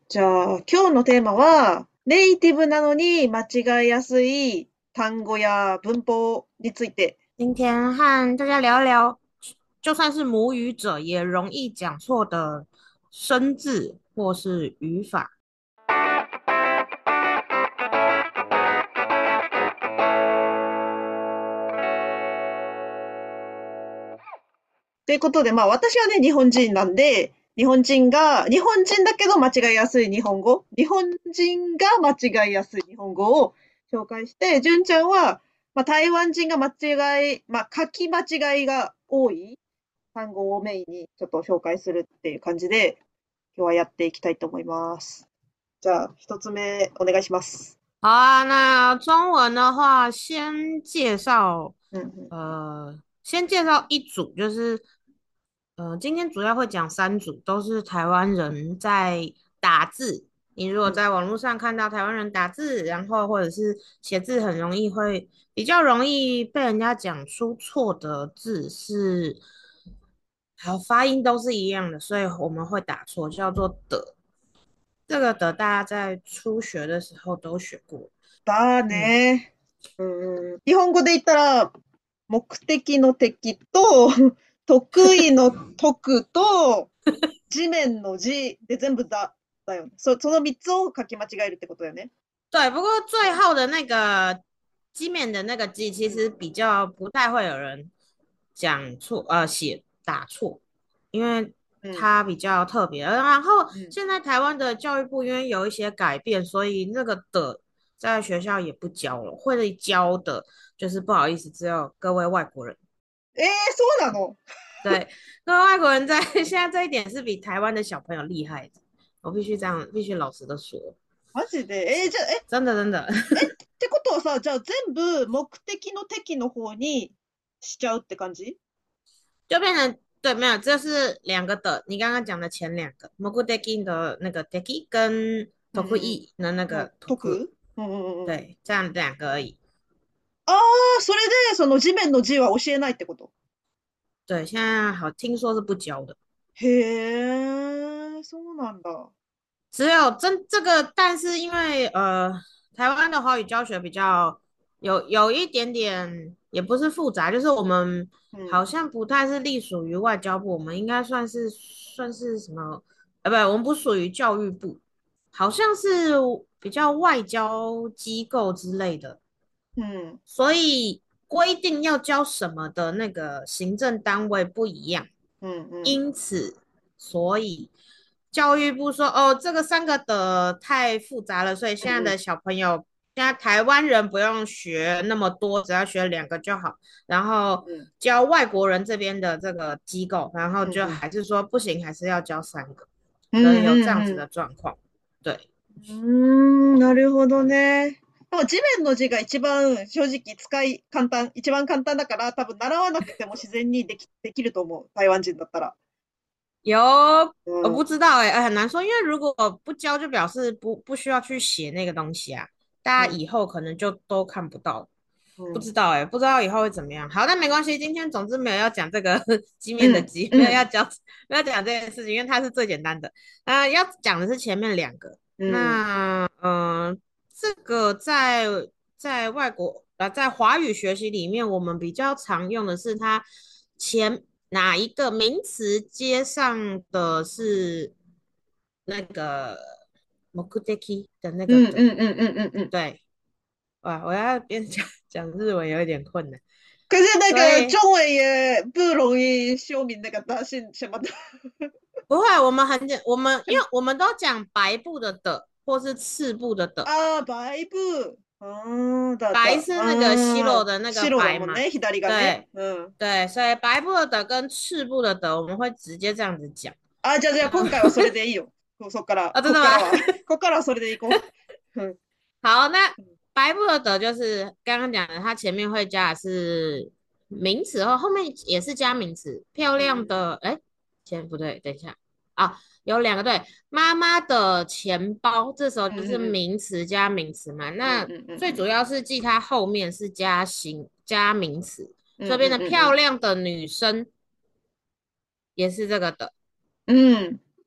じゃあ、今日のテーマは、ネイティブなのに間違いやすい単語や文法について。 今天和大家聊一聊，就算是母语者也容易讲错的生字或是语法。 ということで、私はね、日本人なんで、日本人だけど間違いやすい日本語、日本人が間違いやすい日本語を紹介して、純ちゃんは、台湾人が書き間違いが多い単語をメインにちょっと紹介するっていう感じで、今日はやっていきたいと思います。じゃあ、一つ目お願いします。 好啊，那中文的话， うんうん。 先介绍一组，就是今天主要会讲三组，都是台湾人在打字。你如果うん。 在网络上看到台湾人打字，然后或者是写字，很容易会比较容易被人家讲出错的字是，好，发音都是一样的，所以我们会打错，叫做的。这个的大家在初学的时候都学过。 だ嗯， ね。うん。日本語で言ったら、目的の敵と、得意の得と、地面の字で全部だよね。その三つを書き間違えるってことだよね。 对，不过最后的那个基面的那个字，其实比较不太会有人讲错，打错，因为うん。 它比较特别。然后うん。 现在台湾的教育部因为有一些改变，所以那个的在学校也不教了，会教的就是不好意思，只有各位外国人。 そうなの？ 对，各位外国人在现在这一点是比台湾的小朋友厉害的，我必须这样，必须老实的说， マジで？じゃあ、 真的真的。 ってことはさ、じゃあ全部目的の敵の方にしちゃうって感じ？ 就变成对，没有，这是两个的。你刚刚讲的前两个 m o k u d e k i 的那个 deki 跟うんうん tokui 的那うん。 个 toku， 解く？うんうんうんうん。 对，这样两个而已。 あそれで、その地面の字は教えないってこと？ 对，现在好听说是不教的， へえ、そうなんだ。 只有这个，但是因为台湾的华语教学比较有一点点，也不是复杂，就是我们うん。 好像不太是隶属于外交部，我们应该算是什么？不，我们不属于教育部，好像是比较外交机构之类的， うん。 所以规定要教什么的那个行政单位不一样。 うんうん。 因此，所以教育部说，哦，这个三个的太复杂了，所以现在的うん小朋友，现在台湾人不用学那么多，只要学两个就好。然后うん。 教外国人这边的这个机构，然后就うんうん。 还是说不行，还是要教三个，所以うん有这样子うん的状況。对， うん。なるほどね。地面の字が一番正直一番簡単だから多分習わなくても自然にできると思う。台湾人だったら。 有我うん。 不知道很难说，因为如果不教，就表示不需要去写那个东西啊，大家うん。 以後可能就都看不到。 うん。 不知道不知道以后会怎么样。好，但没关系，今天总之没有要讲这个机うん。 面的机， うん。 没有讲这件事情，因为它是最简单的。要讲的是前面两个。 うん。 那这个在外国在华语学习里面，我们比较常用的是它前哪一个名词接上的是那个目的的那うん。 个的， うん。うん。うん。うん。 对。哇，我要边讲日文有一点困难， 可是那个所以中文也不容易修明那个大姓什么的。 不会，我们因为我们都讲白布的，或是赤布的。 ああ、バイブ。 白是那个西罗的那个白嘛， 白だもんね、左がね。 对うん。 对，所以白布的跟赤布的，我们会直接这样子讲。 じゃあ今回はそれでいいよ。そっから、 真的吗？ こっからはそれでいこう。うん。 好，那白布的就是剛剛講的，它前面會加的是名詞，後面也是加名詞。漂亮的，哎，前不對，等一下啊，有兩個對。媽媽的錢包，這時候就是うん。 名詞加名詞嘛。 うん那うんうんうん。 最主要是記它後面是加名詞， うんうん所以變得うんうん。 漂亮的女生也是這個的。 うん。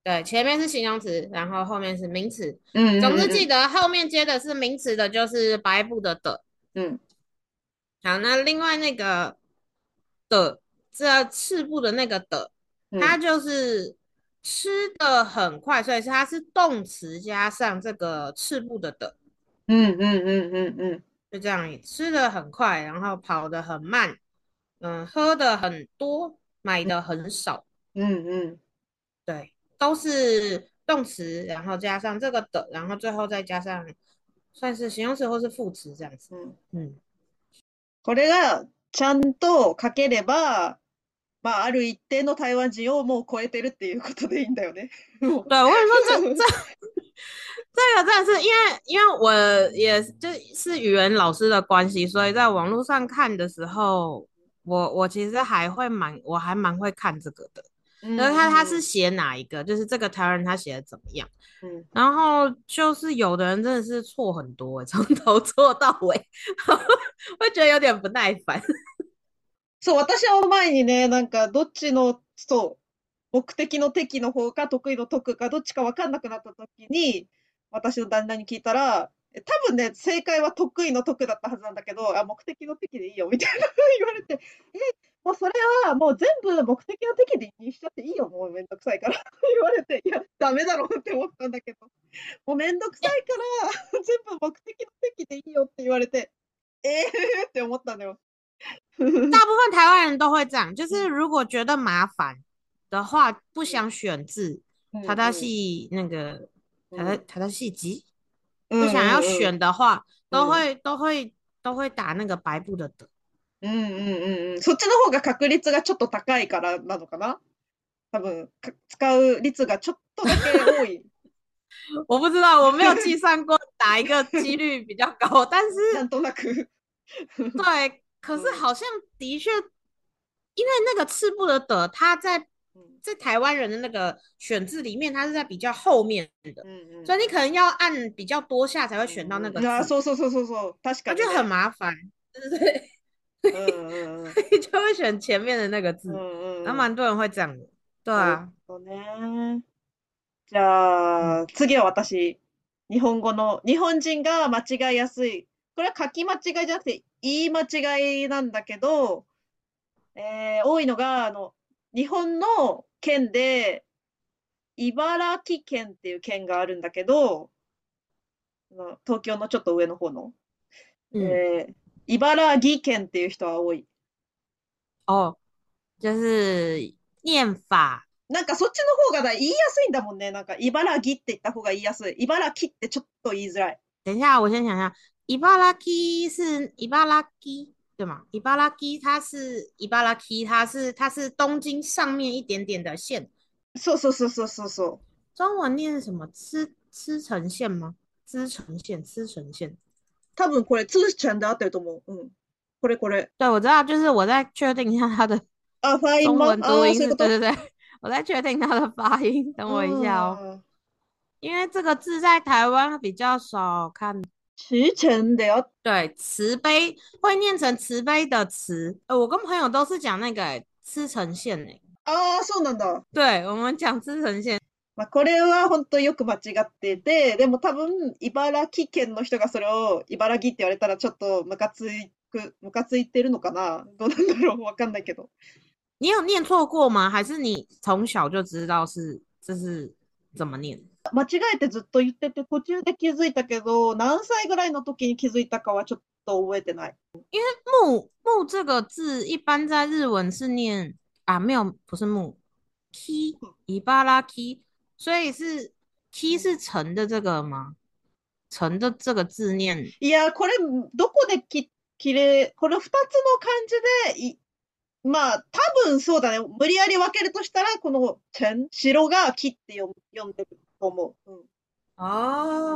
对，前面是形容词，然后后面是名词。 うん总之うんうん记得后面接的是名詞的，就是白布的。 うん。 好，那另外那个的，这赤部的那个的， うん。 它就是吃的很快，所以它是动词加上这个赤部的， うんうんうんうんうん。 就这样，吃的很快，然后跑得很慢，喝的很多，买的很少， うんうん。 对，都是动词，然后加上这个的，然后最后再加上算是形容词或是副詞这样子。 うん。 嗯， これがちゃんと書ければ、まあ、ある一定の台湾人をもう超えてるっていうことでいいんだよね。もう对，我跟你说，这个真的是因为我也就是语言老师的关系，所以在网络上看的时候，我其实我还蛮会看这个的。就是うん他是うん写哪一个，就是这个台湾人他写的怎么样， うん。 然后就是有的人真的是错很多欸，从头错到尾，会觉得有点不耐烦。 そう、私は前にね、なんか、どっちの、そう、目的の敵の方か得意の得かどっちか分かんなくなった時に、私の旦那に聞いたら、多分ね、正解は得意の得だったはずなんだけど、あ、目的の敵でいいよ、みたいな言われて、もうそれはもう全部目的の敵でにしちゃっていいよ、もうめんどくさいから言われて、いや、ダメだろうって思ったんだけど、もうめんどくさいから全部目的の敵でいいよって言われて、って思ったんだよ。 大部分台湾人都会这样，就是うん、 如果觉得麻烦的话，不想選字， うん、 他うん、 系那个うん、 他系级， うん、 不想要うん、 选的話， うん。 都会打那个白布的。 うんうんうんうん。そっちの方が確率がちょっと高いからなのかな多分、使う率がちょっとだけ多い。 我不知道，我没有计算过哪一个几率比较高，但是なんとなく。 对，可うん。 是好像的确，因为那个赤部的，它うん。 在台湾人的那个选字里面，它是在比较后面的， うんうん。 所以你可能要按比较多下才会選到那うんうん。あ、 个字， そうそうそうそうそう。確か那就很にね。 麻烦，对不对？ うんうんうん。 所以就会选前面的那个うん字，然后うんうん。 蛮多人会这样的，对なる啊， ほどね。じ嗯ゃあ、次は私。日本語の、日本人が間違いやすい。これは書き間違いじゃなくて、言い間違いなんだけど、多いのが、日本の県で、茨城県っていう県があるんだけど、東京のちょっと上の方の、 嗯， 茨城県っていう人は多い。 哦，就是念法。 なんかそっちの方が言いやすいんだもんね。なんか茨城って言った方が言いやすい。茨城ってちょっと言いづらい。 等一下，我先想一下，伊巴拉基是伊巴拉基对吗？伊巴拉基它是伊巴拉基，它是东京上面一点点的县， そうそうそうそうそうそう。 中文念什么？吃城县吗？吃城县。 多分これ、通ちゃんで合ってると思う。うん。これこれ。 对，我知道，就是我在确定一下它的あ、ファイン中マンああー、 文读音是， そういうこと。 对对对，我在确定它的发音，等う我一下哦， ん。 因为这个字在台湾比较少看。 ちちゃんであっ对，慈悲会念成慈悲的慈，我跟朋友都是讲那个吃呈现诶， ああ、そうなんだ。 对我们讲吃呈现， まあ、これは本当よく間違ってて、でも多分、茨城県の人がそれを茨城って言われたらちょっとムカついてるのかなどうなんだろうわかんないけど。 你有念错过吗？还是你从小就知道这是怎么念？ 間違えてずっと言ってて、途中で気づいたけど、何歳ぐらいの時に気づいたかはちょっと覚えてない。 木这个字一般在日文是念啊，没有，不是木，ki 伊巴拉 ki，所以是 ki 是成的这个吗？成的这个字念いや、これ、どこでこれ二つの漢字で、まあ、多分そうだね。無理やり分けるとしたら、この、白が木って読んでると思う。うん。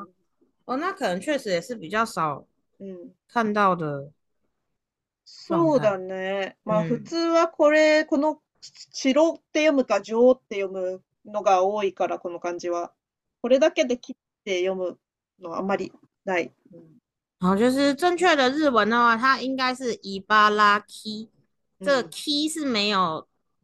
哦，哦，那可能确实也是比较少うん。 看到的状そうだ态。 ね。まあ、普嗯， 通はこの、白って読むか、上って読むのが多いから、この漢字は。これだけで切って読むのはあんまりない。うん。 然后就是正确的日文的话，它应该是伊巴拉 key，这个うん。 key 是没有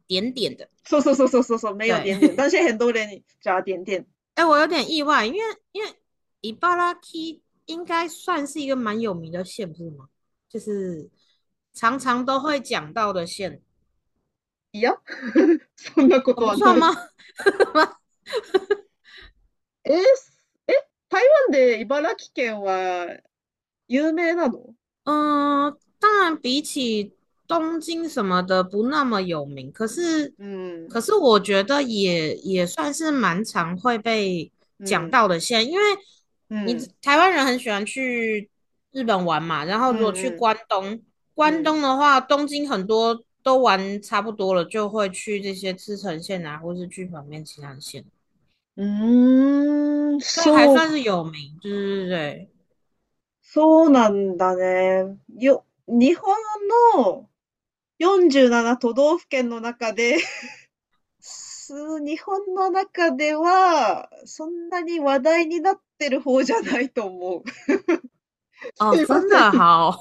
点点的。 そうそうそうそうそうそう，没有对， 点点，但是很多人加点点。 哎，我有点意外，因为伊巴拉基应该算是一个蛮有名的县，不是吗？就是常常都会讲到的县。 いや、そんなこ哦， とはない。 不算吗？ えー、台湾で茨城県は有名なの？ 嗯，当然比起东京什么的不那么有名，可是うん、 可是我觉得也算是蛮常会被讲うん、 到的县，因为你うん、 台湾人很喜欢去日本玩嘛，然後うん、 如果去うん、 关东，关うん。 东的话，东京很多都玩差不多了，就会去这些茨城县啊，或是去旁边其他的县， うーん、 所以还そう、 算是有名，对对对。 そうなんだね。日本の47都道府県の中で日本の中では、そんなに話題になってる方じゃないと思う。 哦， すいま真せん。 的好。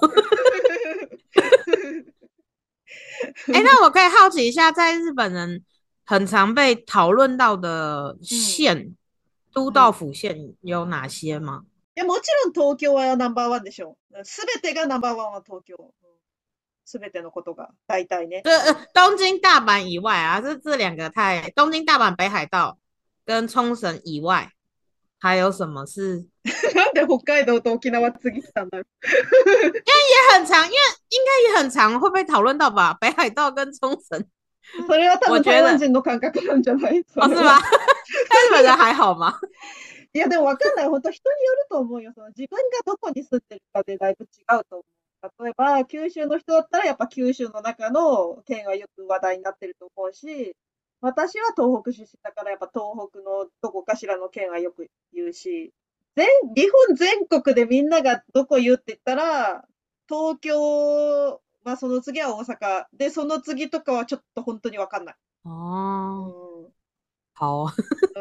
哎，那我可以好奇一下，在日本人很常被讨论到的うん。 县，都うん。 道府县有哪些吗？ いや、もちろん東京はナンバーワンでしょ。すべてがナンバーワンは東京。すべてのことが、大体ね。 对， うん。 东京、大阪以外啊，这两个太，东京、大阪、北海道跟冲绳以外，还有什么是なんで北海道と沖縄次来たんだろう。 也很常，因为应该也很常会被讨论到吧？北海道跟冲绳， それは多分台湾我觉得人の感覚なんじゃない？そ哦，是吗？ れは。 但日本人还好吗？ いや、でもわかんない。本当人によると思うよ。その自分がどこに住んでるかでだいぶ違うと思う。例えば、九州の人だったらやっぱ九州の中の県はよく話題になってると思うし、私は東北出身だからやっぱ東北のどこかしらの県はよく言うし、日本全国でみんながどこ言うって言ったら、東京、まあその次は大阪。で、その次とかはちょっと本当にわかんない。う哦， ん。 好。 うん。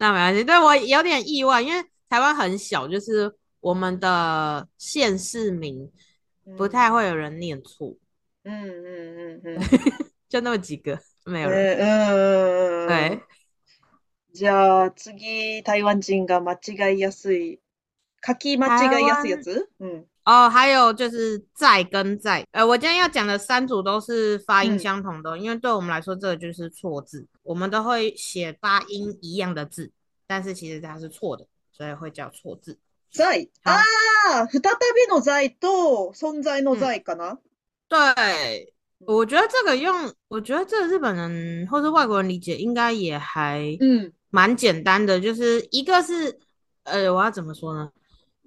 那没关系，对我有点意外，因为台湾很小，就是我们的县市名不うん。 太会有人念错， うんうんうんうん。 就那么几个，没有人。 うん。 对， じゃあ次、台湾人が間違いやすい、書き間違いやすいや台湾つ？うん。 哦，还有就是在跟在，我今天要讲的三组都是发音うん。 相同的，因为对我们来说这个就是错字，我们都会写发音一样的字，但是其实它是错的，所以会叫错字。 在。あ好， あ、再びの在と存在の嗯。 在かな？ 对，我觉得这个用，我觉得这个日本人或是外国人理解应该也还うん。 蛮简单的，就是一个是，我要怎么说呢？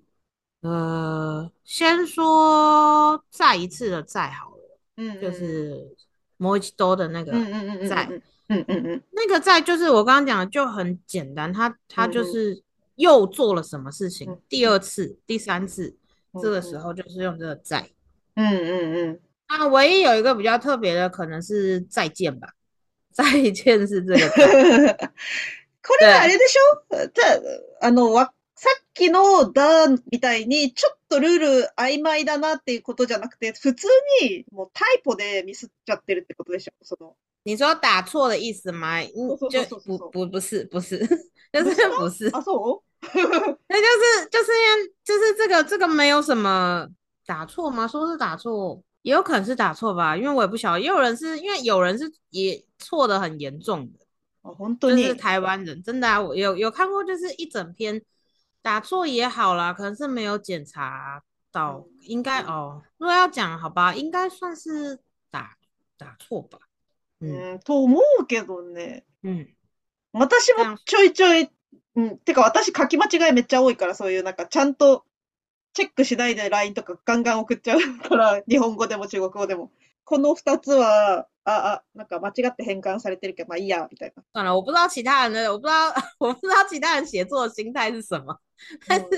先说再一次的再好了， うん就うん。 是もう一度的那个うんうんうんうんう再， ん。うんうんうん。 那个再就是我刚刚讲的就很简单，他うんうん。 就是又做了什么事情， うん第二次、第三次，这个时うんうん。 候就是用这个再。 うんうんうん。 啊，唯一有一个比较特别的，可能是再见吧。再见是这个在， これはあれ对， でしょ？さっきのだみたいに、ちょっとルール曖昧だなっていうことじゃなくて、普通にもうタイポでミスっちゃってるってことでしょ？ 你说打错的意思吗？就そうそうそうそうそうそう。 不是，就是不是吗？ 不是， あ、そう？ 那就是这个没有什么打错吗？说是打错，也有可能是打错吧，因为我也不晓得，也有人是因为有人是也错的很严重的， あ、本当就是に。 台湾人真的啊，我有看过，就是一整篇打错也好啦，可能是没有检查到，应该哦，如果要讲好吧，应该算是打打错吧，嗯うん、と思うけどね。 嗯， 私も这样ちょいちょい、うん、てか私書き間違いめっちゃ多いから、そういうなんかちゃんとチェックしないで LINE とかガンガン送っちゃうから、日本語でも中国語でも。この二つは、なんか間違って変換されてるけど、まあいいや、みたいな。 算了，我不知道其他人的，我不知道我不知道其他人写作的心态是什么，但是うん。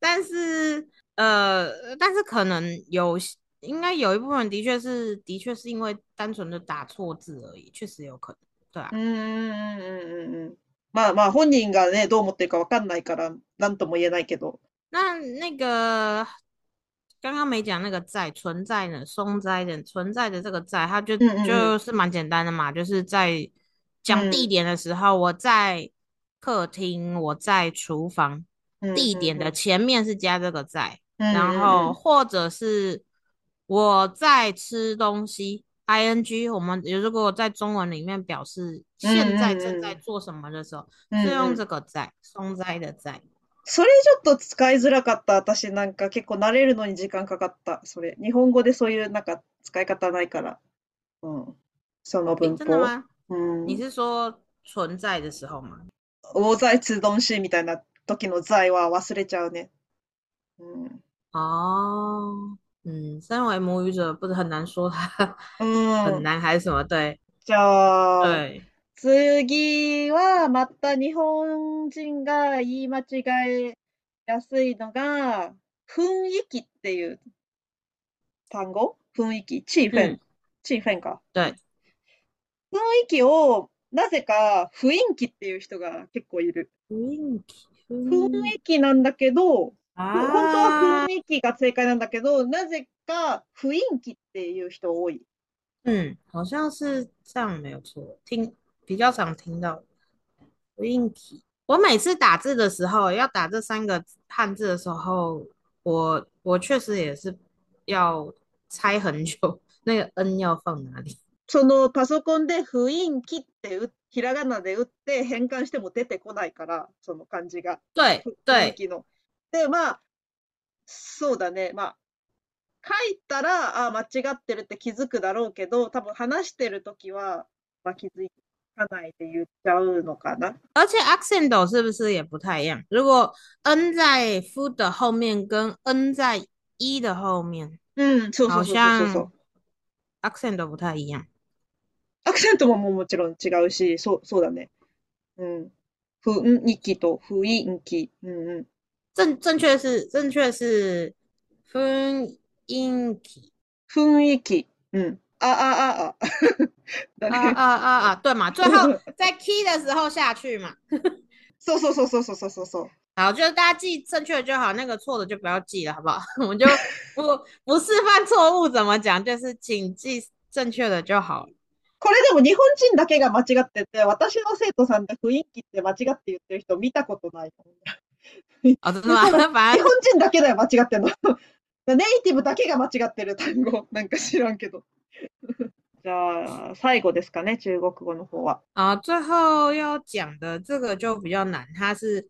但是可能应该有一部分人的确是因为单纯的打错字而已，确实有可能，对啊。 うんうんうんうんうん。まあまあ本人がね、どう思ってるかわかんないから、なんとも言えないけど。 那个刚刚没讲那个在存在的松在的存在的这个在，它就うんうんうん。 就是蛮简单的嘛，就是在讲地うん。 点的时候，我在客厅，我在厨房， うん地点的うんうん。 前面是加这个在， うん然うんうん。 后或者是我在吃东西，ing，我们如果在中文里面表示うん现在正うんうん。 在做什么的时候，是用うんうん。 这个在，松在的在。 それちょっと使いづらかった。私なんか結構慣れるのに時間かかった。それ。日本語でそういうなんか使い方ないから。うん。その诶， 文法。 真的吗？ う你ん。 是说存在的时候吗？ 大在吃東西みたいな時の在は忘れちゃうね。うん。 哦，身为母语者，不是很难说它う很ん。 难还是什么？对じゃあ、 对， 次はまた日本人が言い間違えやすいのが、雰囲気っていう単語雰囲気、气氛、 嗯， 气氛か。う对， ん。雰囲気を、なぜか雰囲気っていう人が結構いる。 雰囲気、 雰雰囲気なんだけど、本当は啊， 雰囲気が正解なんだけど、なぜか雰囲気っていう人多い。 好像是这样，没有错，比较常听到雰囲気。我每次打字的时候，要打这3个汉字的时候，我确实也是要猜很久，那个 N 要放哪里？ そのパソコンで雰囲気ってひらがなで打って変換しても出てこないから、その漢字が。 对对雰囲気の。で、まあ、そうだね。まあ、書いたら、あ、間違ってるって気づくだろうけど、多分話してるときは、まあ、気づかないで言っちゃうのかな。 而且 accent 是不是也不太一样？如果 n 在 f 的后面跟 n 在的后面， うん、そうそ好うそうそうそうそ像う。 accent 都不太一样。 アクセントももちろん違うし、そうだね。うん。雰囲気と雰囲気。うんうん。 正确是雰囲気。 雰囲気。うん。あ。だね。 对嘛？最后在 key 的时候下去嘛。 そうそうそうそうそうそうそう。 好，就是大家记正确的就好，那个错的就不要记了，好不好？我们就不示范错误怎么讲，就是请记正确的就好了。 これでも日本人だけが間違ってて、私の生徒さんで雰囲気って間違って言ってる人見たことない。 哦，真的吗？ 多分、日本反正人だけだよ、間違ってんの。ネイティブだけが間違ってる単語。なんか知らんけど。じゃあ、最後ですかね、中国語の方は。 啊，最后要讲的这个就比较难，它是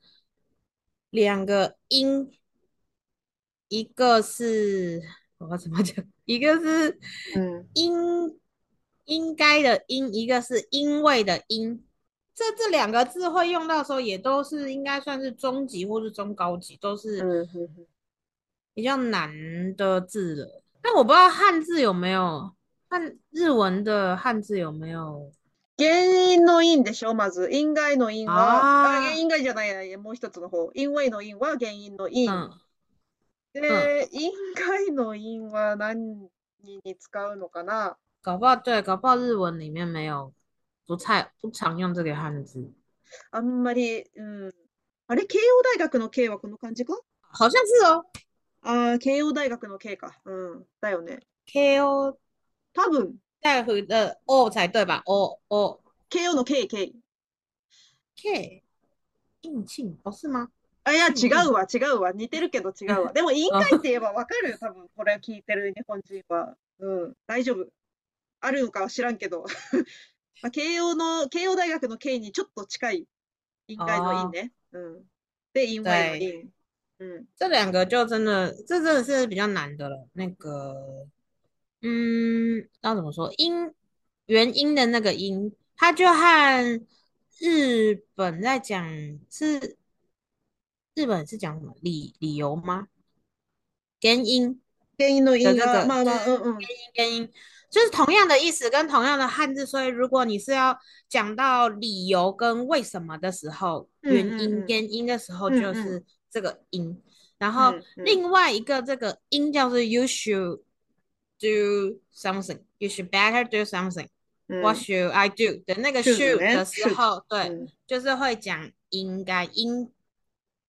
2个音，一个是我要怎么讲？一个是うん。 应该的应，一个是因为的因。这2个字会用到的时候，也都是应该算是中级或是中高级，都是うん、うん。 比较难的字了。但我不知道汉字有没有，日文的汉字有没有原因の因でしょ、まず。因外の因は、 啊？ 因外じゃないや、もう一つの方。因為の因は原因の因。 嗯嗯， で、因外の因は何に使うのかな。 搞不好对，搞不好日文里面没有，不常用这个汉字， あんまり、うん。あれ、慶応大学の慶はこの漢字か。 好像是哦ああ、慶応大学の慶か。うん。だよね。 ，KO 多分、 带回的 O 才对吧？O 慶応の慶、慶。 K 应庆哦是吗？ あ、いや、違庆应うわ、違うわ。似てるけど違うわ。でも、委員哦会って言えばわかるよ、多分。これ聞いてる日本人は。うん。大丈夫。あるのかは知らんけど。まあ、慶応大学の慶にちょっと近い委員会の委哦， ね。うん。で、因为の对， 因。うん。 这2个就真的是比较难的了。那个要怎么说？原因的那个因，它就和日本在讲是日本是讲什么理由吗？原因原因の因が、 的这个まあまあ、うんうん。 原因，就是同样的意思跟同样的汉字，所以如果你是要讲到理由跟为什么的时候， うんうんうん。 原因的时候うんうん。 就是这个因，然后うんうん。 另外一个这个因叫做 you should do something，you should better do something，what うん。 should I do 的那个 should should ね。 的时 should。 候，对， うん。 就是会讲应该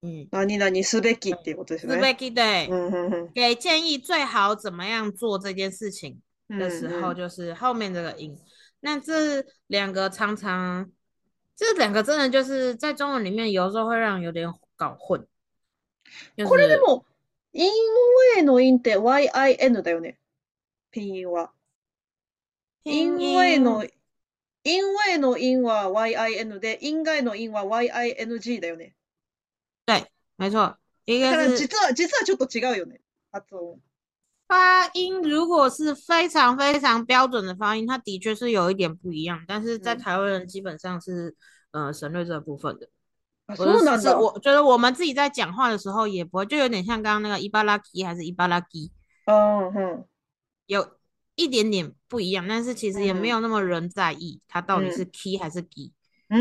嗯， 何々すべきっていうことですね。 是被给对， うんうんうん。 给建议最好怎么样做这件事情的时候， うんうん。 就是后面这个因。那这两个常常，这两个真的就是在中文里面有时候会让人有点搞混，就是これでも、因为の因って yin だよね。拼音は。 拼因为の、 音， 因为の因は yin で、因外の因は ying だよね。 对，没错，一だから个是実はちょっと違うよね。発音。 发音，如果是非常非常标准的发音，它的确是有一点不一样，但是在うん。 台湾人基本上是省略这部分的。 あ、 我就そうなんだ。 我觉得我们自己在讲话的时候也不会，就有点像刚刚那个伊巴拉基还是伊巴拉基， あー、うん。 有一点点不一样，但是其う实也没ん。 有那么人在意它到底是うん。 key 还是 g。 うん。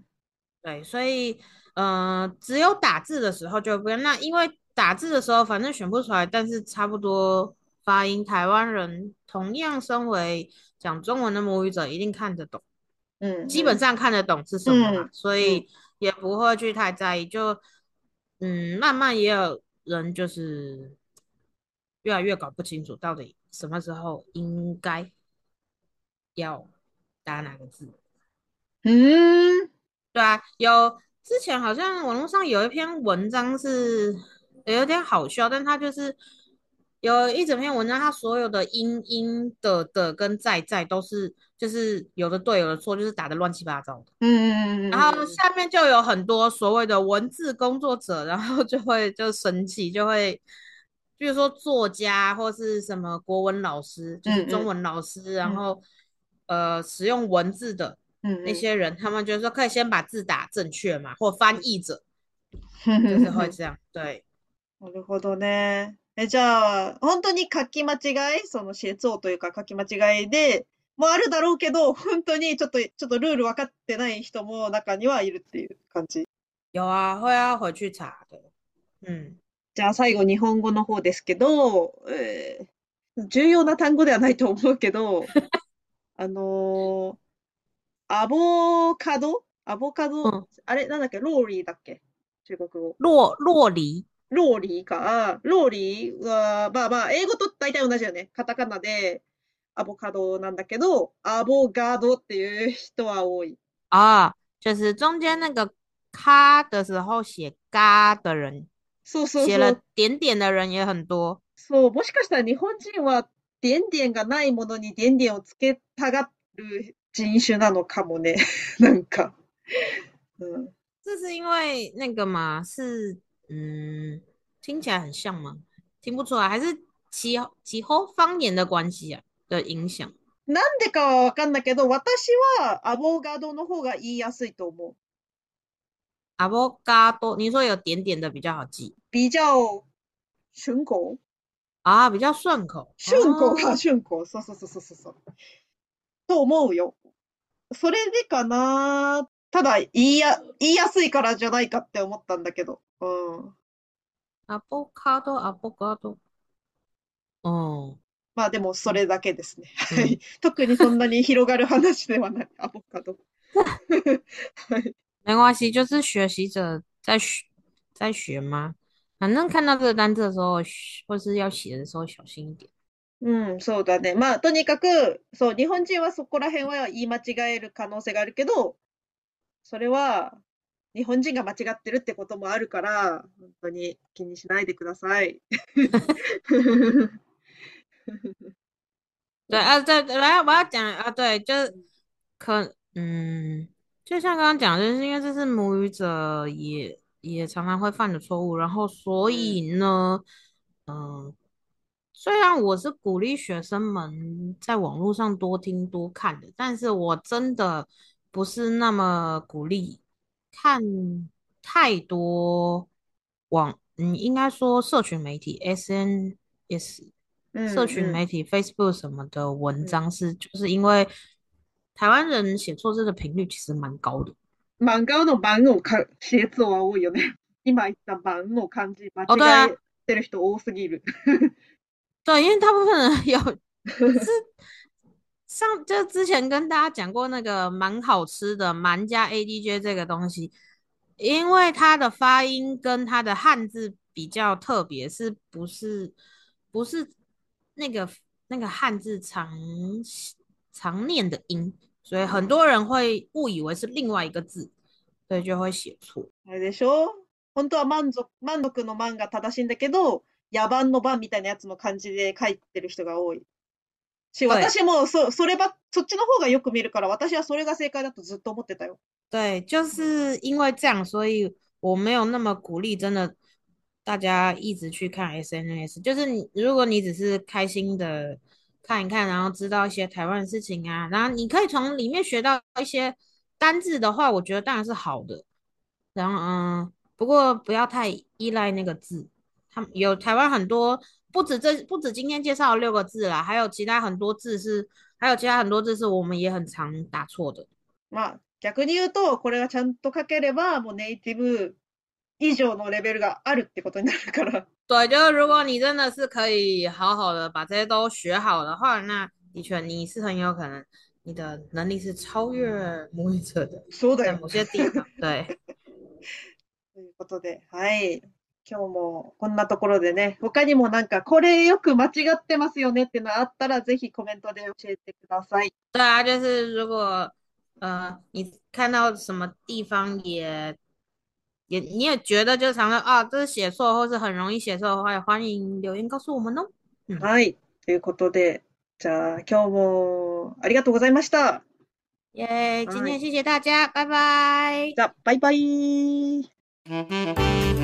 对，所以只有打字的时候就不用。那因为打字的时候反正选不出来，但是差不多发音，台湾人同样身为讲中文的母语者，一定看得懂， うん。 基うん。 本上看得懂是什么啦， うん。うん。 所以也不会去太在意。就慢慢也有人就是越来越搞不清楚到底什么时候应该要打哪个字。 うーん。 对啊，有之前好像网络上有一篇文章是有点好笑，但它就是有一整篇文章，它所有的的跟在都是就是有的对有的错，就是打的乱七八糟的。 うん。 然后うん。 下面就有很多所谓的文字工作者，然后就生氣，就会比如说作家或是什么国文老師，就是中うん。 文老师，然うん。 后使用文字的うん。うん。 那些人，他们就说可以先把字打正确嘛，或翻译者就是会这样。对， なるほどね。じゃあ、本当に書き間違い、その写字というか書き間違いで、もあるだろうけど、本当にちょっとルール分かってない人も中にはいるっていう感じ。 有啊，会要回去查的。嗯， じゃあ最後日本語の方ですけど、重要な単語ではないと思うけど、あのーアボカド嗯， あれなんだっけローリーだっけ中国語。 洛梨ローリーか。ローリーは、まあまあ、英語と大体同じよね。カタカナでアボカドなんだけど、アボガドっていう人は多い。 啊，就是中间那个咔的时候写嘎的人， そうそう写了そう。 点点的人也很多。 そう、もしかしたら日本人は、点々がないものに点々をつけたがる人種なのかもね。なんか。うん。 这是因为那个嘛，是听起来很像吗？听不出来，还是几后方言的关系啊的影响？ なんでかはわかんないけど、私はアボガドの方が言いやすいと思う。 阿波嘎多，你说有点点的比较好記比較順口啊，比较顺口順口が哦。 順口。そうそうそうそうそう。と思うよ。それでかな。ただ、言いやすいからじゃないかって思ったんだけど。うん。 阿波卡多，阿波嘎多，哦， まあでも、そ嗯れだけですね。はい。 嗯， 特にそんなに広がる話ではない。アボカド。はい。 没关系，就是学习者在学吗？反正看到这个单词的时候，或是要写的时候小心一点。 うん、そうだね。まあ、とにかく、そう、日本人はそこら辺は言い間違える可能性があるけど、それは、日本人が間違ってるってこともあるから、本当に気にしないでください。 对啊，对，来，我要讲啊，对，就是就像刚刚讲的，就是因为这是母语者也常常会犯的错误，然后所うん、 以呢，嗯、虽然我是鼓励学生们在网络上多听多看的，但是我真的不是那么鼓励看太多应该说社群媒体 SNS。 うん、 社群うん、 媒体 Facebook 什么的文うん。 章就是因为台湾人写错字的频率其实蛮高的。 漫画の番の写字は多いよね。今言った番の漢字間哦，对啊， 違えてる人多すぎる。 对，因为大部分人是就之前跟大家讲过那个蛮好吃的蛮加 ADJ 这个东西， 因为它的发音跟它的汉字比较特别，不是那个那个汉字常念的音，所以很多人会误以为是另外一个字，所以就会写错。 あれでしょ？本当は満足の満が正しいんだけど、野蛮の蛮みたいなやつの漢字で書いてる人が多い。 对私もそっちの方がよく見るから、私はそれが正解だとずっと思ってたよ。 对，就是因为这样，所以我没有那么鼓励，真的大家一直去看 SNS。就是你，如果你只是开心的看一看，然后知道一些台湾的事情啊，然后你可以从里面学到一些单字的话，我觉得当然是好的。然后不过不要太依赖那个字。他们有台湾很多，不止今天介绍的6个字啦，还有其他很多字是我们也很常打错的。 まあ、逆に言うと、これがちゃんと書ければ、もうネイティブ以上のレベルがあるってことになるから。 对，就是如果你真的是可以好好的把这些都学好的话，那的确你是很有可能你的能力是超越母语者的， そうだよ。 在某些地方。对， ということで、はい。今日もこんなところでね、他にもなんかこれよく間違ってますよねっていうのあったら、ぜひコメントで教えてください。 对啊，就是如果你看到什么地方你也觉得就常常啊这是写错或是很容易写错的话，也欢迎留言告诉我们哦。嗯， はい。ということで、じゃあ今日もありがとうございました。 耶，今はい。 天谢谢大家，拜拜。 じゃあ、バイバイ。